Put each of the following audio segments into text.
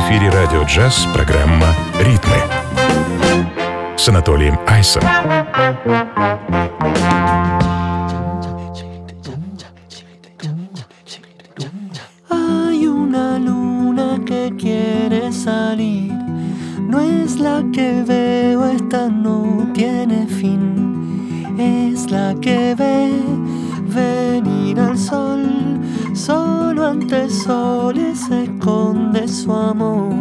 эфире «Радио Джаз» программа «Ритмы» с Анатолием Айсом. Hay una luna que quiere salir, no es la que veo, esta no tiene fin, es la que ve venir al sol, solo ante soles se esconde su amor.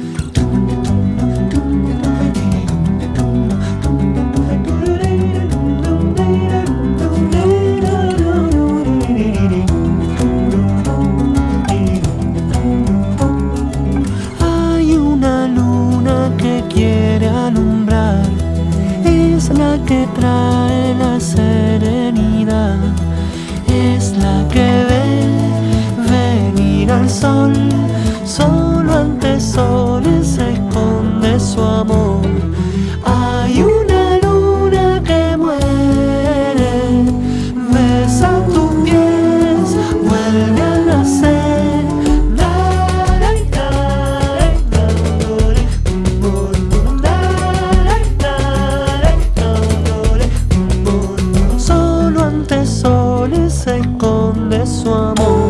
Hay una luna que quiere alumbrar, es la que trae la serenidad, es la que ve venir al sol, solo ante soles se esconde su amor. Hay una luna que muere, besa tus pies, vuelve a nacer. Solo ante soles se esconde su amor.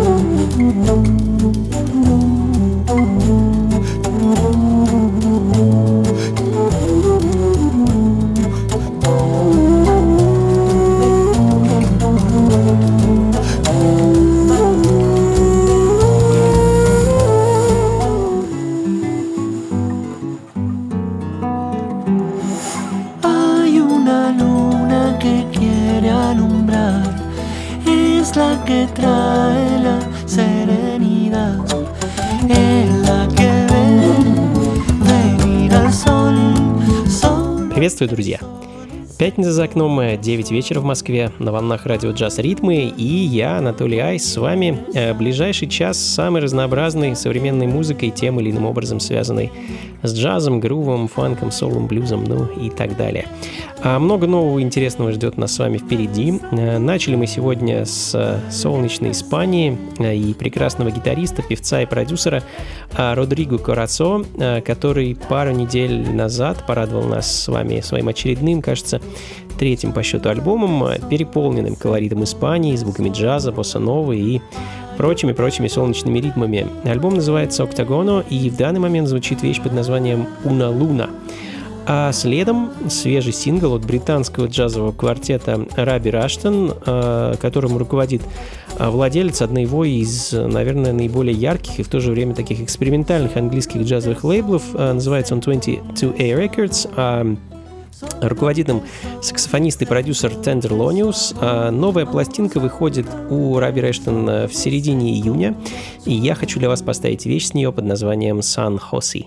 Hay una luna que quiere alumbrar, es la que trae la serenidad, es la que ve venir al sol. Приветствую, друзья! Пятница за окном, 9 вечера в Москве, на волнах радио «Джаз Ритмы», и я, Анатолий Айс, с вами. Ближайший час с самой разнообразной современной музыкой, тем или иным образом связанной с джазом, грувом, фанком, соулом, блюзом, ну и так далее. Много нового и интересного ждет нас с вами впереди. Начали мы сегодня с солнечной Испании и прекрасного гитариста, певца и продюсера Родриго Коразо, который пару недель назад порадовал нас с вами своим очередным, кажется, третьим по счету альбомом, переполненным колоритом Испании, звуками джаза, босса-новы и прочими солнечными ритмами. Альбом называется «Октагоно», и в данный момент звучит вещь под названием «Una Luna». А следом свежий сингл от британского джазового квартета Раби Раштон, которым руководит владелец одного из, наверное, наиболее ярких и в то же время таких экспериментальных английских джазовых лейблов. Называется он 22A Records. Руководит им саксофонист и продюсер Тендерлониус. Новая пластинка выходит у Раби Раштон в середине июня, и я хочу для вас поставить вещь с нее под названием «San Jose».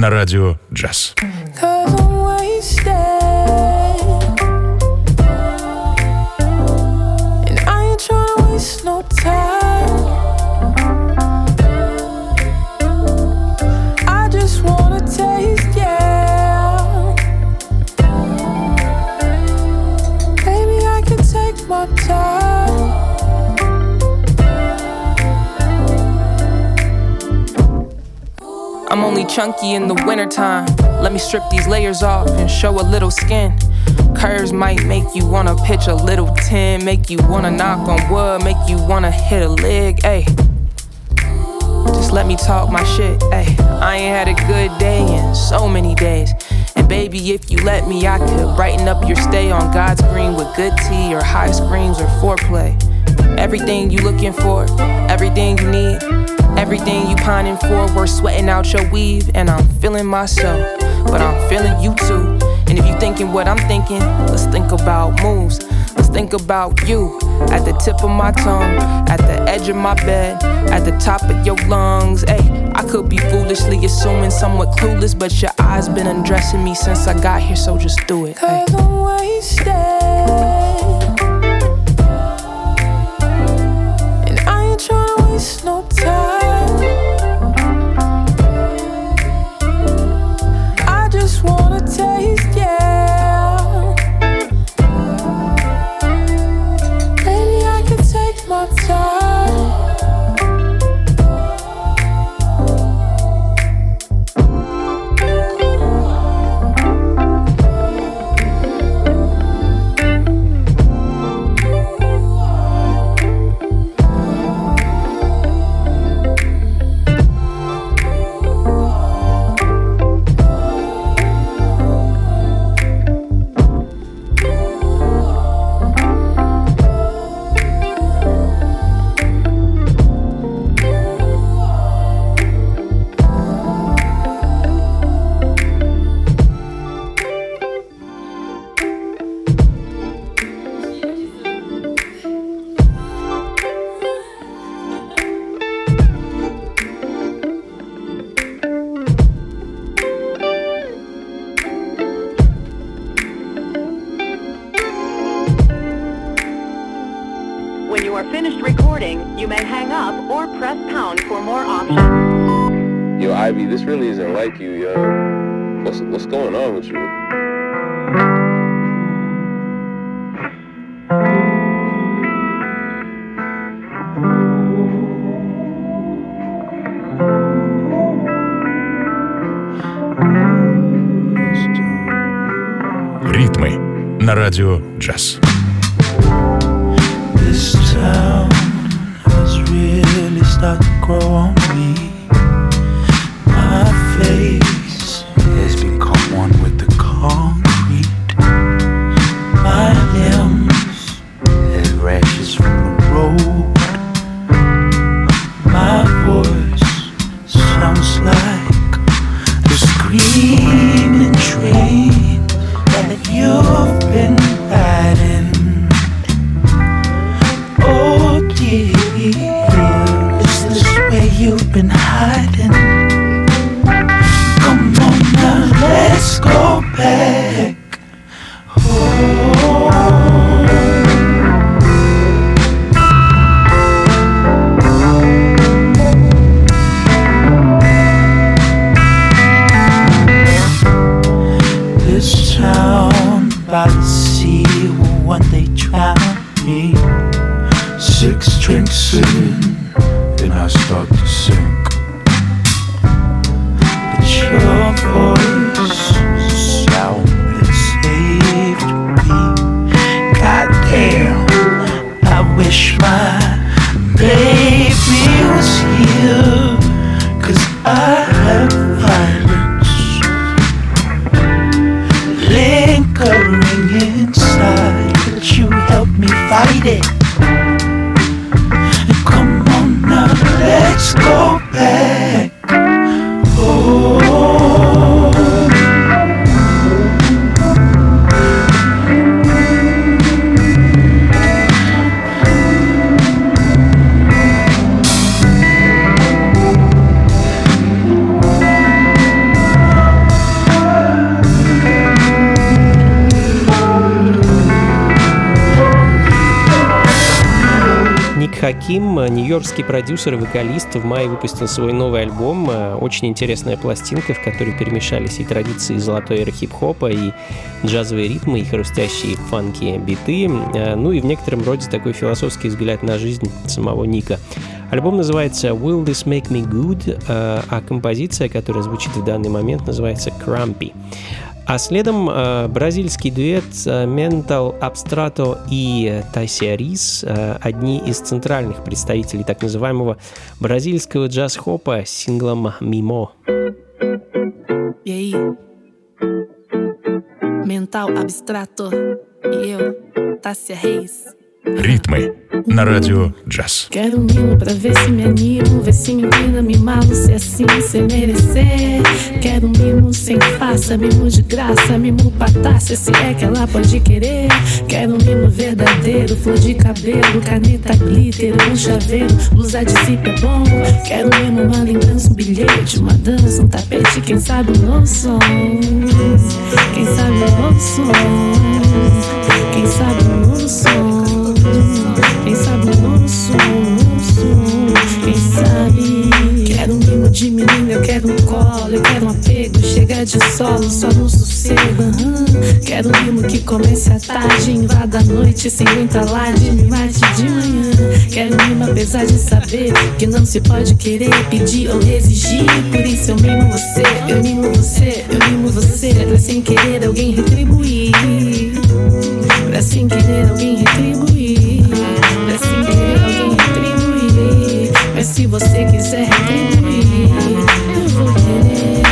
на радио «Джаз». I'm only chunky in the wintertime. Let me strip these layers off and show a little skin. Curves might make you wanna pitch a little 10, make you wanna knock on wood, make you wanna hit a leg, ayy. Just let me talk my shit, ayy. I ain't had a good day in so many days. And baby, if you let me, I could brighten up your stay on God's green with good tea or high screams or foreplay. Everything you looking for, everything you need, everything you pining for, worth sweating out your weave. And I'm feeling myself, but I'm feeling you too. And if you thinking what I'm thinking, let's think about moves. Let's think about you at the tip of my tongue, at the edge of my bed, at the top of your lungs. Ay, I could be foolishly assuming somewhat clueless, but your eyes been undressing me since I got here, so just do it. 'Cause I'm wasted, and I ain't tryna waste no time. I just wanna taste, yeah. Baby, I can take my time. When you are finished recording, you may hang up or press pound for more options. Yo, Ivy, this really isn't like you, yo. What's going on with you? Ритмы на радио «Джаз». This town has really started to grow on me. My face has become one with the concrete. My limbs have rashes from the road. My voice sounds like the screaming train that you've been riding. Oh dear, is this where you've been hiding? Come on now, let's go back home. This town by the sea will one day drown me. 6 drinks in, then I start to sink. But your voice sound that saved me. Goddamn, I wish my baby was here, 'cause I have violence lingering inside, but you help me fight it. Come on now, let's go back home. Хаким, нью-йоркский продюсер и вокалист, в мае выпустил свой новый альбом. Очень интересная пластинка, в которой перемешались и традиции золотой эры хип-хопа, и джазовые ритмы, и хрустящие фанки биты, ну и в некотором роде такой философский взгляд на жизнь самого Ника. Альбом называется «Will This Make Me Good», а композиция, которая звучит в данный момент, называется «Crumpy». А следом бразильский дуэт Mental Abstrato и Тайсия Рис, одни из центральных представителей так называемого бразильского джаз-хопа с синглом «Mimo». E aí? Mental Abstrato e eu, Tássia Reis. Ритмы на радио джаз. Quero um mimo pra ver se me animo, ver se me inclina, mimá-lo, se assim, se merecer. Quero um mimo sem farsa, mimo de graça, mimo patácia, se é que ela pode querer. Quero um mimo verdadeiro, flor de cabelo, caneta, glitter, um chaveiro, blusa de zipe é bom. Quero um mimo, uma lembrança, um bilhete, uma dança, um tapete, quem sabe um novo som. Quem sabe um novo som. Quem sabe um novo som. Quem sabe o nosso, quem sabe. Quero um mimo de menina, eu quero um colo, eu quero um apego, chega de solo, só no sossego. Quero um mimo que comece à tarde, invada a noite sem muita alarde, me mate de manhã. Quero um mimo apesar de saber que não se pode querer, pedir ou exigir. Por isso eu mimo você, eu mimo você, eu mimo você, pra sem querer alguém retribuir. Pra sem querer alguém retribuir. Pra sem querer alguém retribuir. Mas se você quiser retribuir, eu vou querer.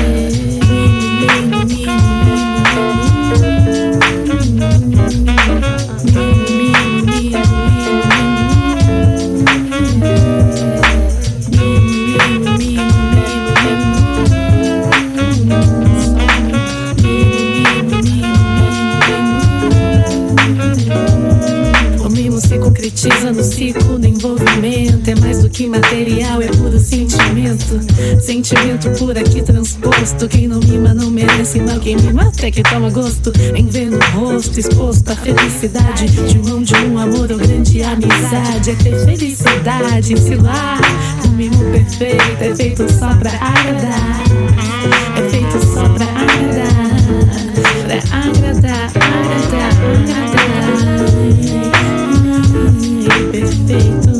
Concretiza no ciclo do envolvimento. É mais do que material, é puro sentimento. Sentimento puro aqui transposto. Quem não mima não merece mal. Quem mima até que toma gosto em ver no rosto exposto a felicidade de um amor ou grande amizade. É ter felicidade em se lá. O mimo perfeito é feito só pra agradar. É feito só pra agradar. Pra agradar, agradar, agradar. Perfeito.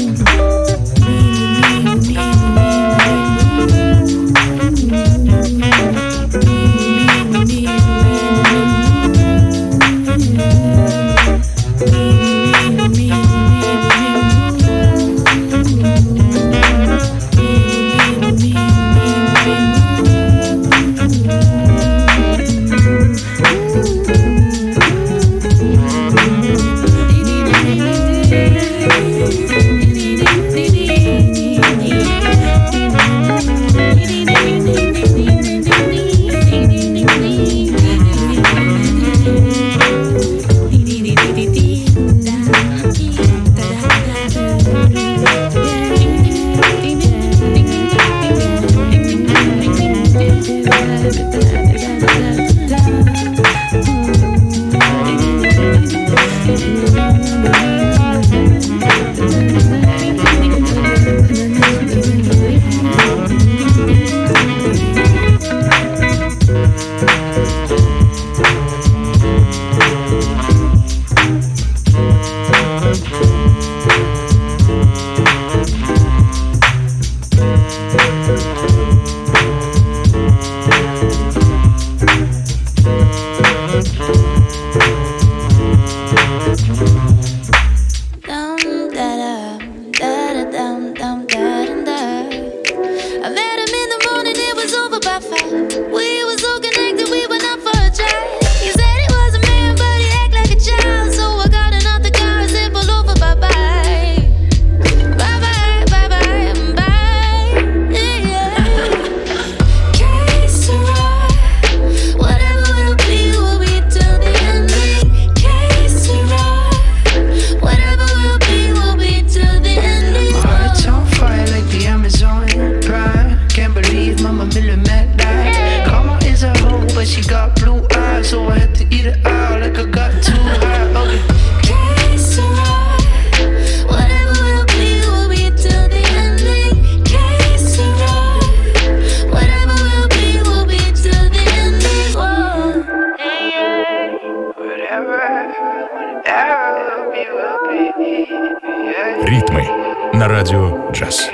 Ритмы на радио джаз.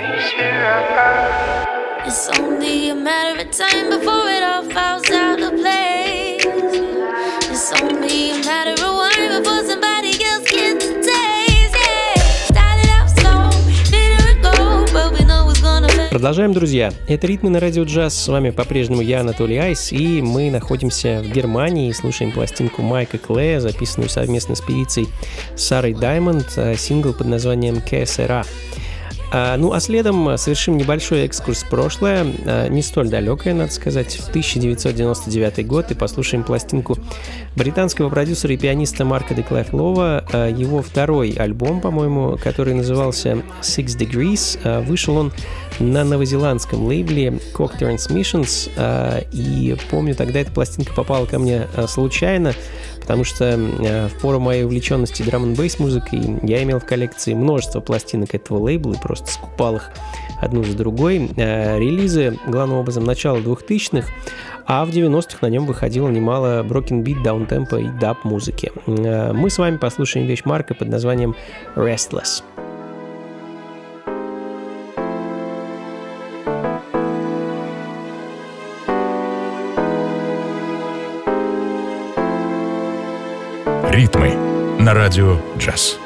It's only a matter of time before it all falls out of place. It's only a matter of wine before somebody else gets the taste. Yeah, started out slow, bitter and gold, but we know it's gonna fade. Продолжаем, друзья. Это «Ритмы на радио джаз». С вами по-прежнему я, Анатолий Айс, и мы находимся в Германии и слушаем пластинку Майка Клея, записанную совместно с певицей Сарой Даймонд, сингл под названием «КСРА». Ну а следом совершим небольшой экскурс в прошлое, не столь далекое, надо сказать, в 1999 год, и послушаем пластинку британского продюсера и пианиста Марка де Клайф-Лова. Его второй альбом, по-моему, который назывался Six Degrees, вышел он на новозеландском лейбле Cock Transmissions, и помню, тогда эта пластинка попала ко мне случайно, потому что в пору моей увлеченности драм-н-бейс музыкой я имел в коллекции множество пластинок этого лейбла и просто скупал их одну за другой. Релизы, главным образом, начала 2000-х, а в 90-х на нем выходило немало broken-beat, даунтемпа и даб-музыки. Мы с вами послушаем вещь Марка под названием «Restless». Ритмы на радио джаз.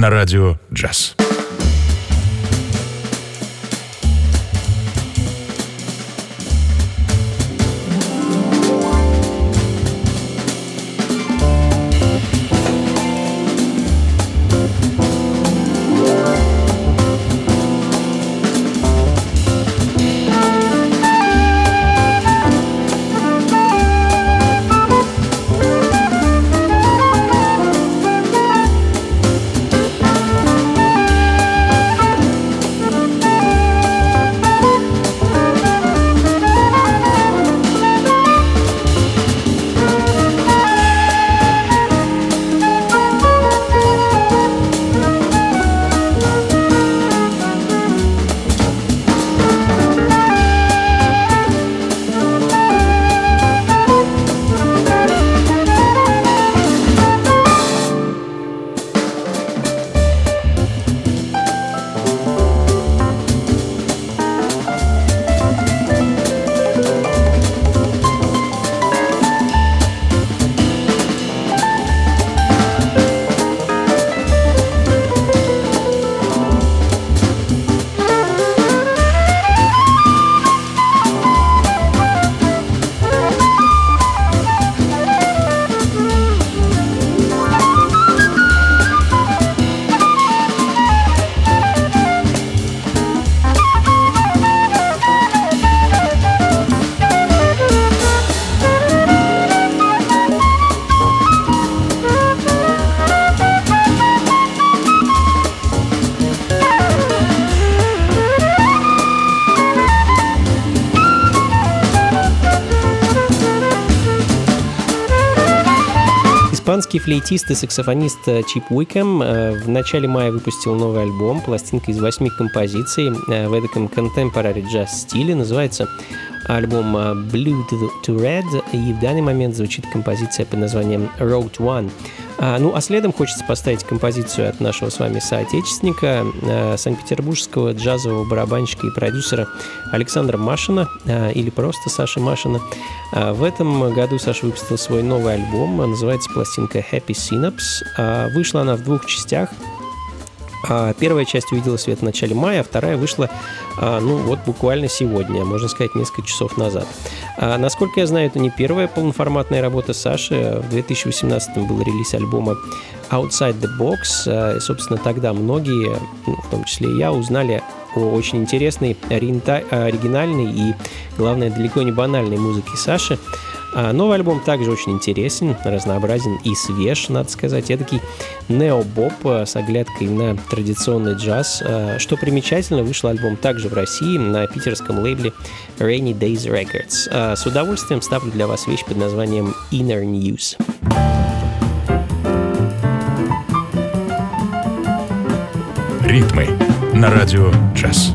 на радио «Джаз». Испанский флейтист и саксофонист Чип Уикэм в начале мая выпустил новый альбом, пластинка из 8 композиций в эдаком contemporary jazz стиле. Называется альбом Blue to Red, и в данный момент звучит композиция под названием Road One. А следом хочется поставить композицию от нашего с вами соотечественника, санкт-петербургского джазового барабанщика и продюсера Александра Машина, или просто Саши Машина. В этом году Саша выпустил свой новый альбом, называется пластинка Happy Synapse. Вышла она в 2 частях. Первая часть увидела свет в начале мая, а вторая вышла, буквально сегодня, можно сказать, несколько часов назад. Насколько я знаю, это не первая полноформатная работа Саши. В 2018-м был релиз альбома Outside the Box. И, собственно, тогда многие, в том числе и я, узнали о очень интересной, оригинальной и, главное, далеко не банальной музыке Саши. Новый альбом также очень интересен, разнообразен и свеж, надо сказать. Эдакий нео-боб с оглядкой на традиционный джаз. Что примечательно, вышел альбом также в России на питерском лейбле Rainy Days Records. С удовольствием ставлю для вас вещь под названием Inner News. Ритмы на радио «Джаз».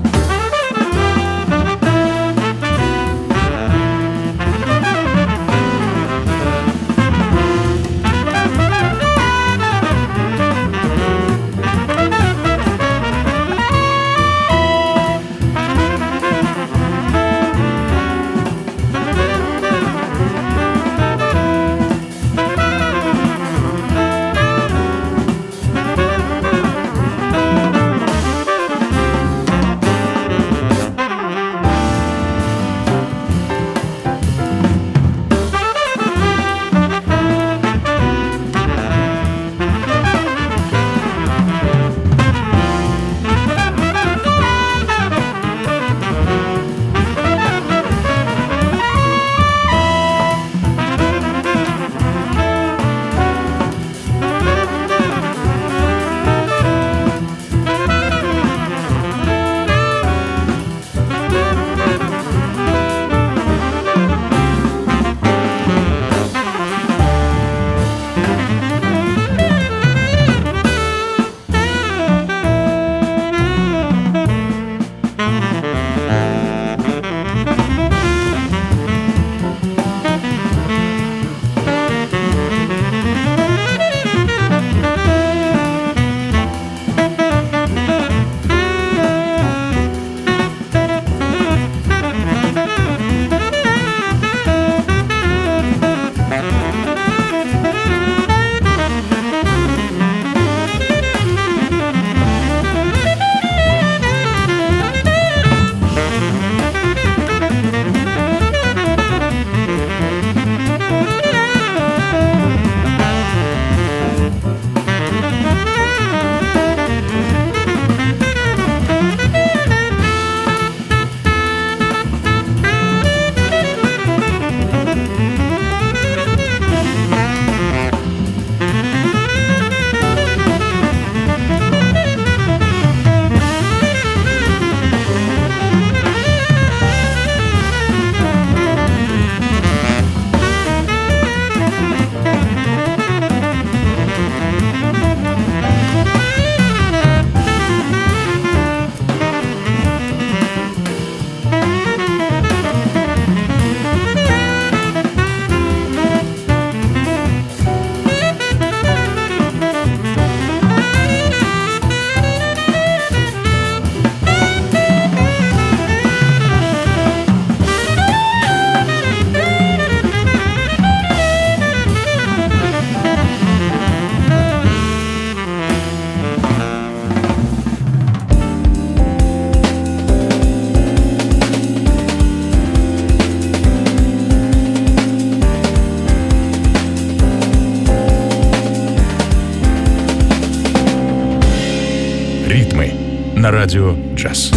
на радио «Джаз».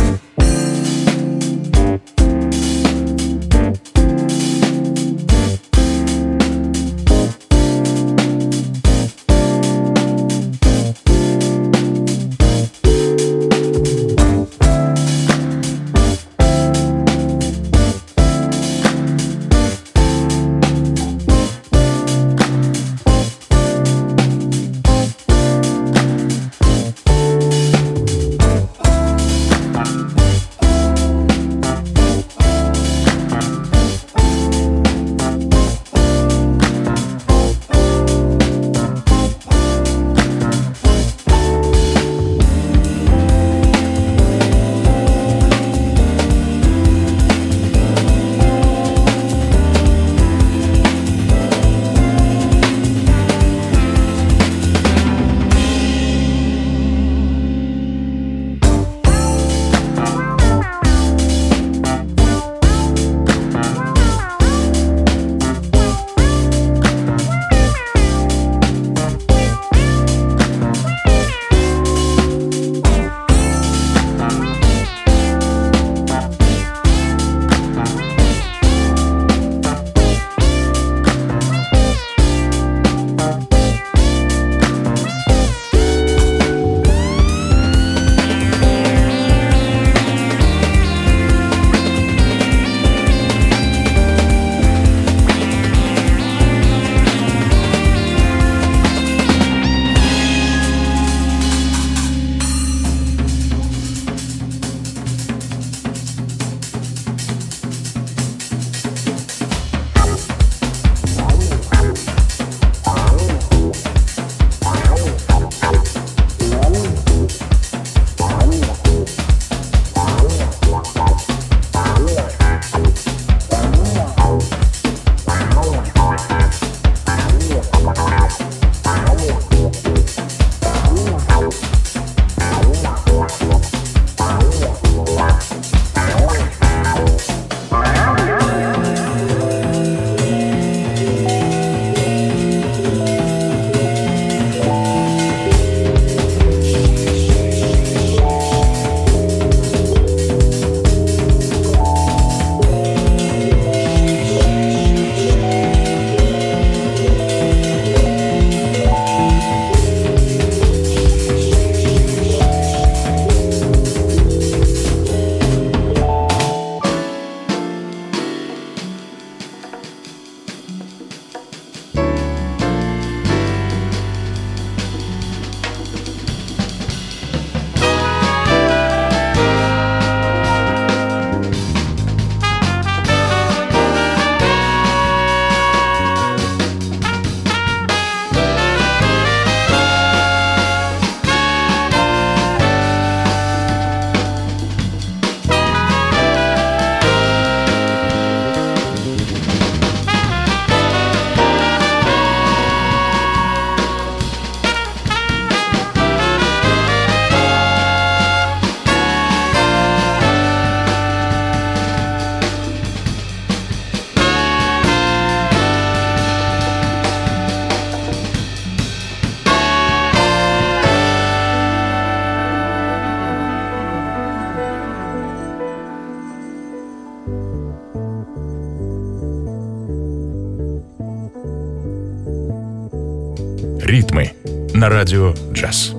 «Ритмы» на радио «Джаз».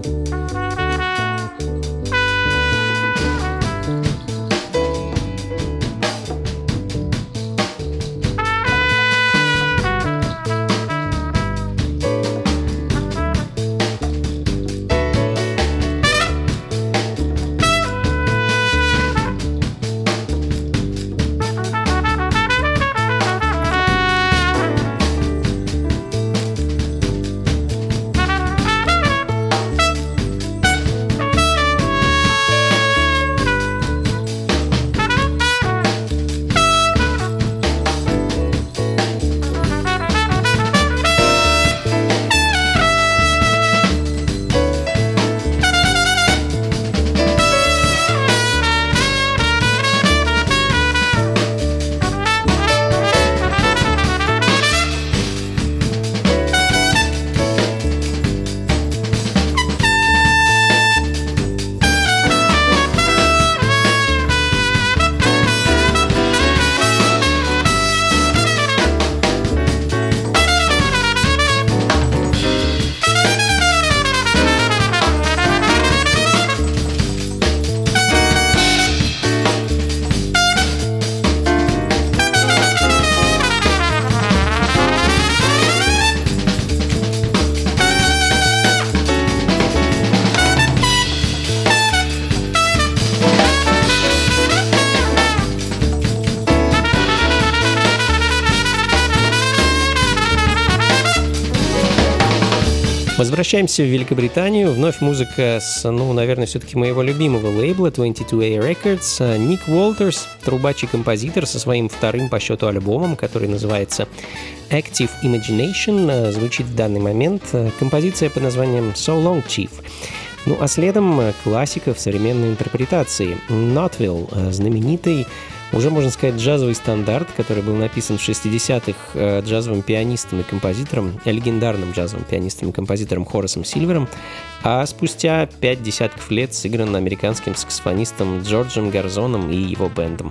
Возвращаемся в Великобританию. Вновь музыка с, наверное, все-таки моего любимого лейбла 22A Records. Ник Уолтерс, трубач и композитор, со своим вторым по счету альбомом, который называется Active Imagination, звучит в данный момент композиция под названием So Long, Chief. А следом классика в современной интерпретации. Notville, знаменитый, уже, можно сказать, джазовый стандарт, который был написан в 60-х джазовым пианистом и композитором, легендарным джазовым пианистом и композитором Хорасом Сильвером, а спустя 5 десятков лет сыгран американским саксофонистом Джорджем Гарзоном и его бэндом.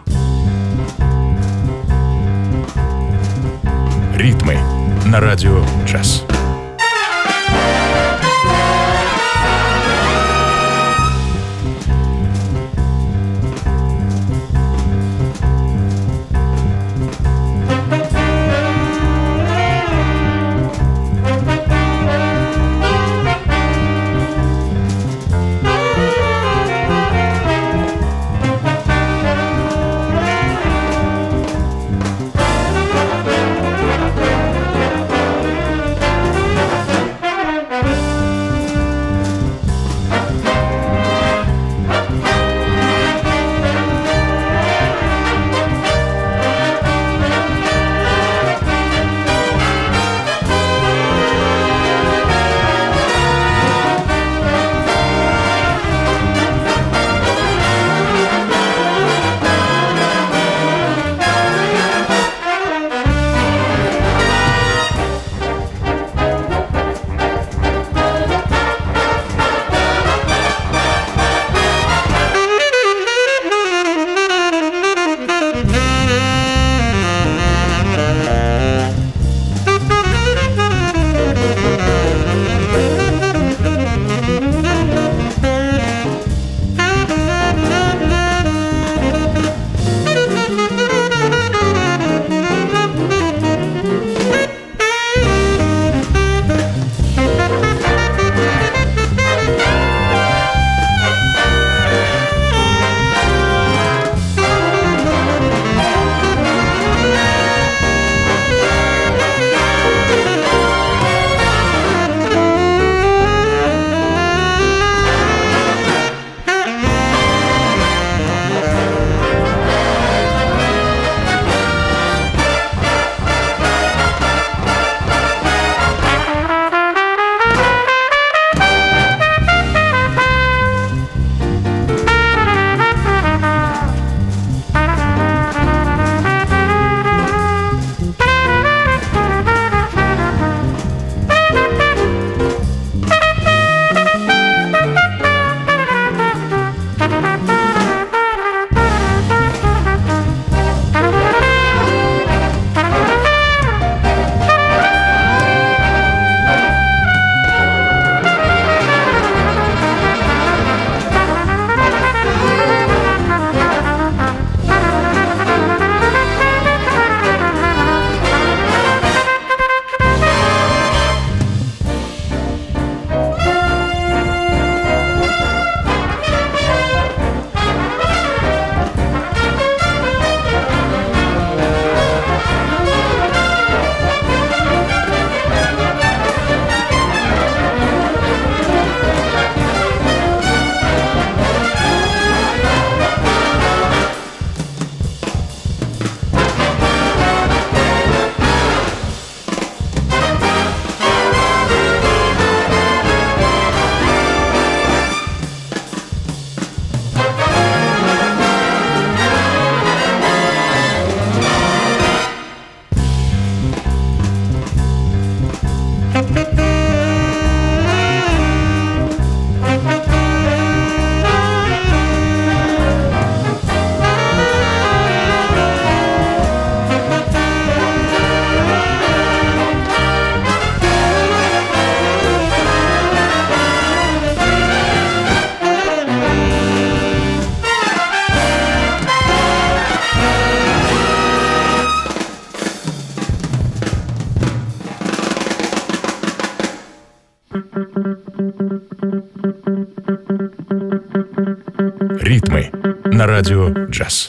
Ритмы на радио «Джаз». Ритмы на радио «Джаз».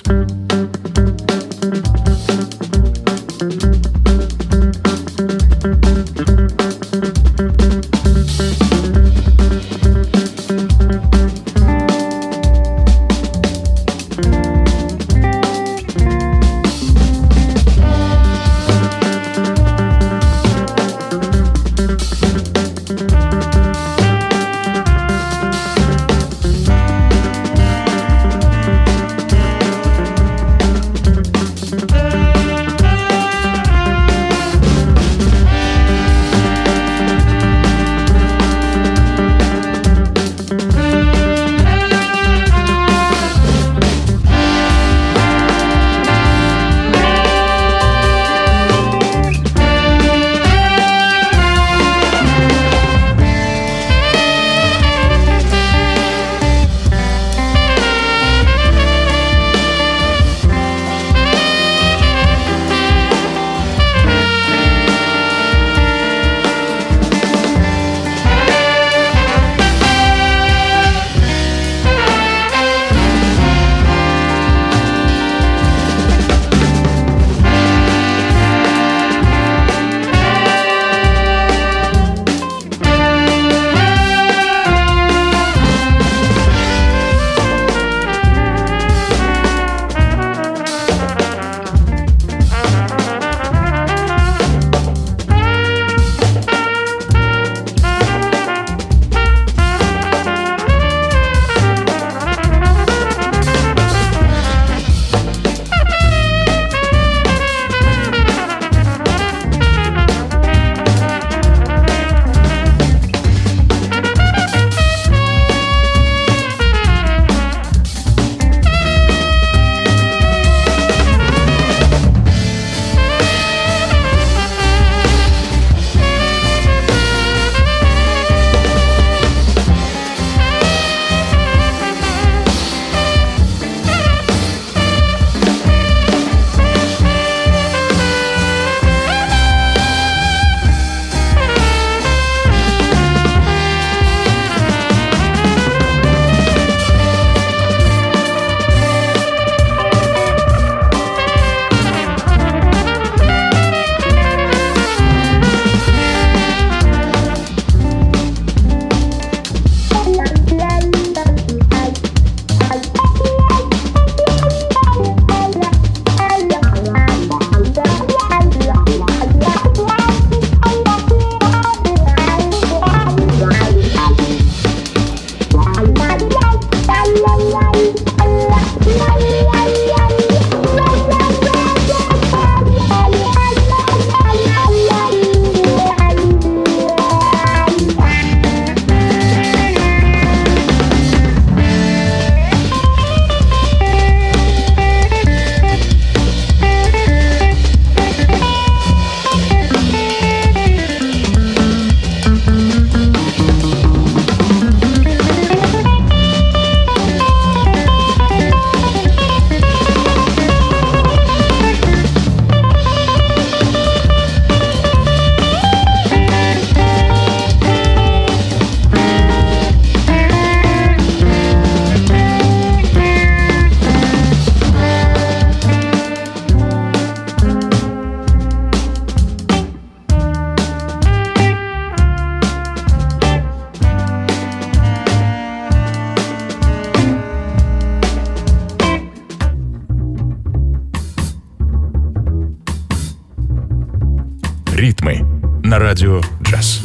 «Ритмы» на радио «Джаз».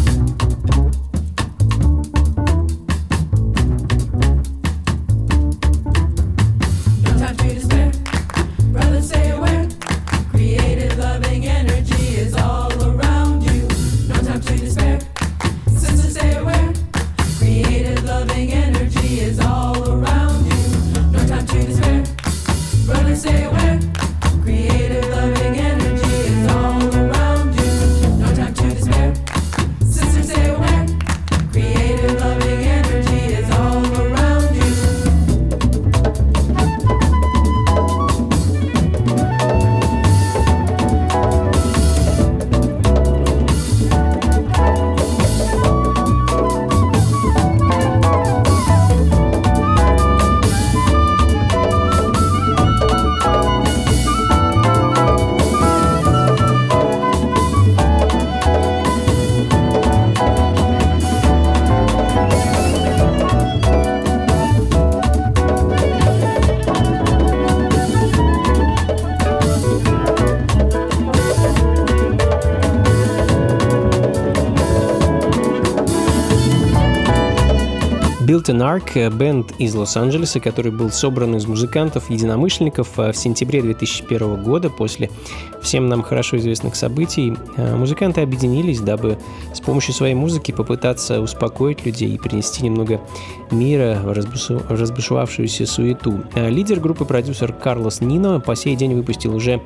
Built-in Arc — бенд из Лос-Анджелеса, который был собран из музыкантов-единомышленников в сентябре 2001 года после всем нам хорошо известных событий. Музыканты объединились, дабы с помощью своей музыки попытаться успокоить людей и принести немного мира в разбушевавшуюся суету. Лидер группы, продюсер Карлос Нино, по сей день выпустил уже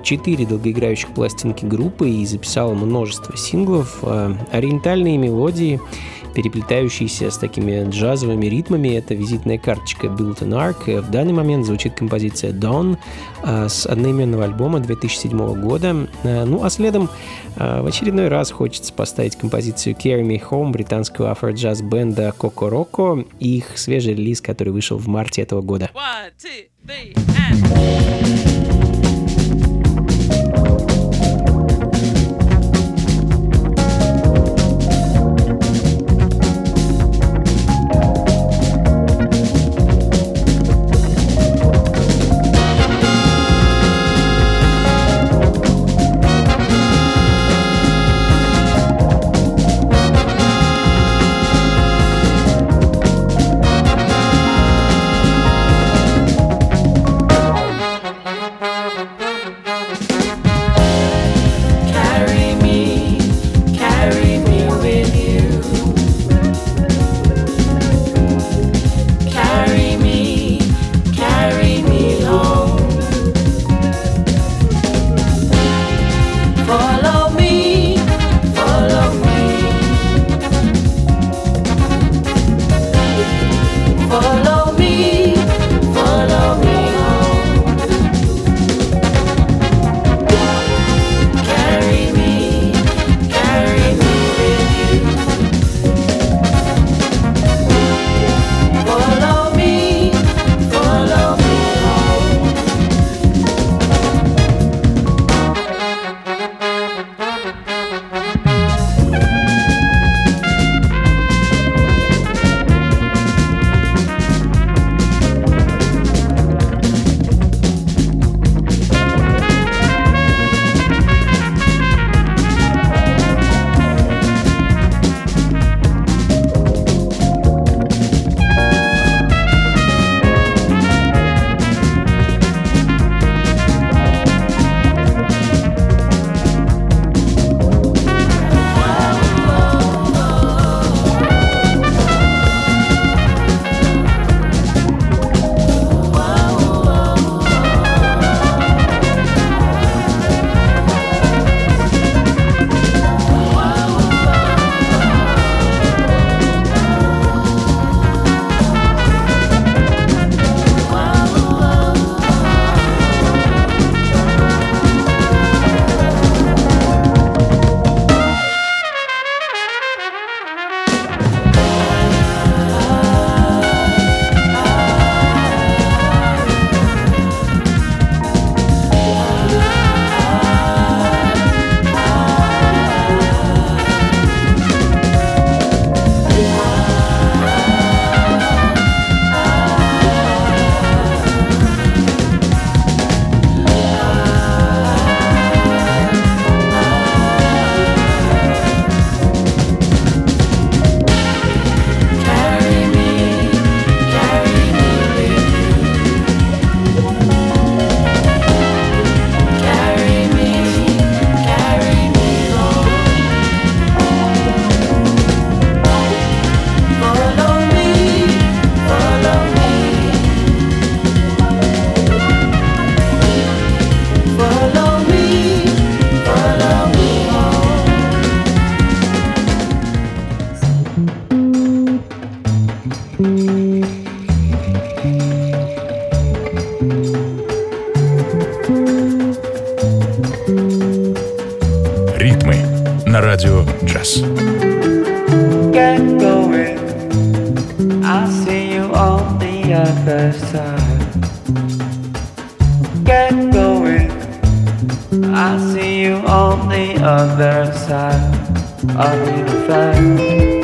4 долгоиграющих пластинки группы и записал множество синглов. Ориентальные мелодии, переплетающиеся с такими джазовыми ритмами, это визитная карточка Built-in Arc. В данный момент звучит композиция Dawn с одноименного альбома 2007 года. Ну а следом в очередной раз хочется поставить композицию Carry Me Home британского афро-джаз бенда Кокороко и их свежий релиз, который вышел в марте этого года. 1, 2, 3, and... на радио «Джаз». Get going, I'll see you on the other side. Get going, I'll see you on the other side of the universe.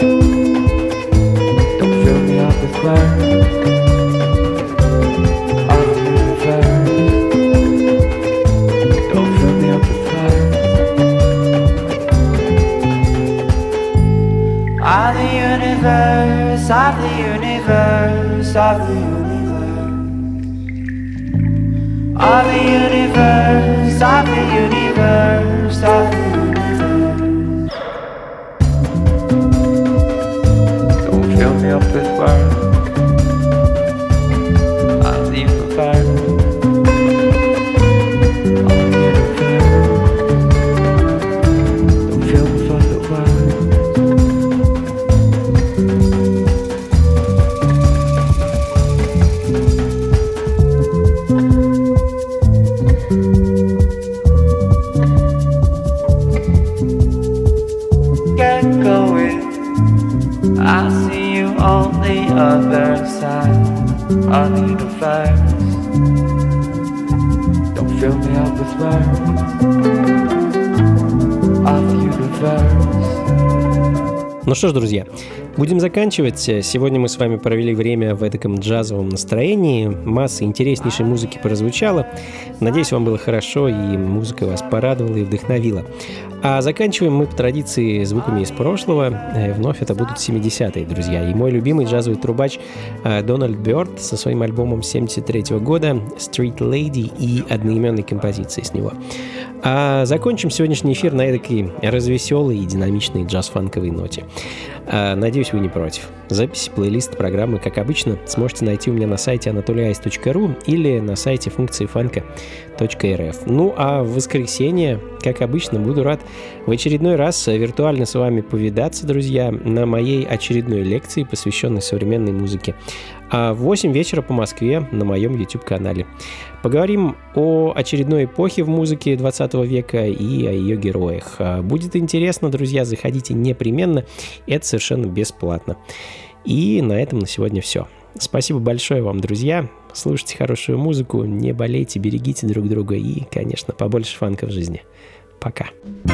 Don't fill me up with words of the universe. Don't fill me up with words of the universe, of the universe, of the universe. Of the universe, of the universe, of the universe. Don't fill me up with words of the universe, of the universe. Don't fill me full of words. Get going, I'll see you on the other side of the universe. Don't fill me up with words of the universe. Ну что ж, друзья, будем заканчивать. Сегодня мы с вами провели время в эдаком джазовом настроении. Масса интереснейшей музыки прозвучала. Надеюсь, вам было хорошо, и музыка вас порадовала и вдохновила. А заканчиваем мы по традиции звуками из прошлого. Вновь это будут 70-е, друзья. И мой любимый джазовый трубач Дональд Бёрд со своим альбомом 73-го года «Street Lady» и одноименной композицией с него. А закончим сегодняшний эфир на эдакой развеселой и динамичной джаз-фанковой ноте. Надеюсь, вы не против. Запись, плейлист программы, как обычно, сможете найти у меня на сайте anatolyice.ru или на сайте функции фанка.рф. Ну а в воскресенье, как обычно, буду рад в очередной раз виртуально с вами повидаться, друзья, на моей очередной лекции, посвященной современной музыке. А в 8 вечера по Москве на моем YouTube-канале. Поговорим о очередной эпохе в музыке 20 века и о ее героях. Будет интересно, друзья, заходите непременно. Это совершенно бесплатно. И на этом на сегодня все. Спасибо большое вам, друзья. Слушайте хорошую музыку, не болейте, берегите друг друга и, конечно, побольше фанка в жизни. Пока.